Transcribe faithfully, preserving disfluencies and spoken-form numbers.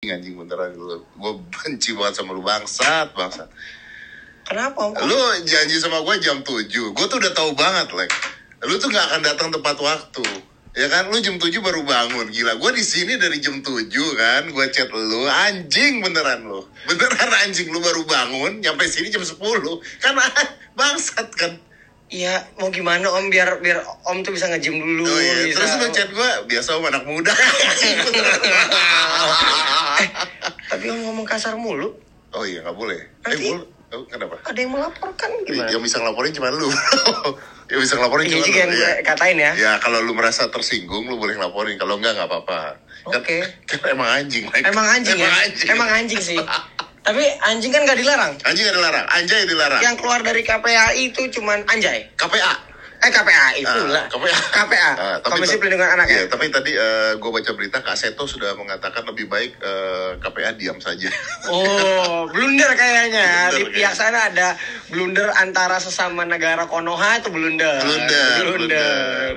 anjing anjing beneran lu. Gue benci banget sama lu, bangsat bangsat. Kenapa Om? Lu janji sama gue jam tujuh. Gue tuh udah tahu banget, Lek. Lu tuh gak akan datang tepat waktu. Ya kan, lu jam tujuh baru bangun. Gila, gue di sini dari jam tujuh kan. Gue chat lu, anjing beneran lu. Beneran anjing, lu baru bangun, nyampe sini jam sepuluh. Kan bangsat kan. Iya, mau gimana Om, biar biar Om tuh bisa nge-gym dulu. Oh iya, bisa... terus lu chat gue, biasa Om anak muda. eh, tapi Om ngomong kasar mulu. Oh iya, gak boleh. Nanti... Eh, mulu. Oh, kenapa? Ada yang melaporkan gimana? Yang bisa ngelaporin cuma lu. Yang bisa ngelaporin cuma lu. Iya yang gue katain ya. Ya kalau lu merasa tersinggung lu boleh ngelaporin. Kalau enggak enggak apa-apa. Oke. Okay. Kan, kan emang anjing. Like. Emang anjing emang ya? Anjing. Emang anjing sih. Tapi anjing kan gak dilarang. Anjing gak dilarang. Anjay dilarang. Yang keluar dari K P A I itu cuman anjay. K P A. Eh K P A I itu uh, lah. K P A. K P A. Uh, Komisi Pelindungan Anak iya, ya. Tapi tadi uh, gue baca berita Kak Seto sudah mengatakan lebih baik uh, K P A diam saja. Oh, blunder kayaknya. Blunder, di pihak sana ada blunder antara sesama negara Konoha itu blunder. Blunder. Blunder. blunder.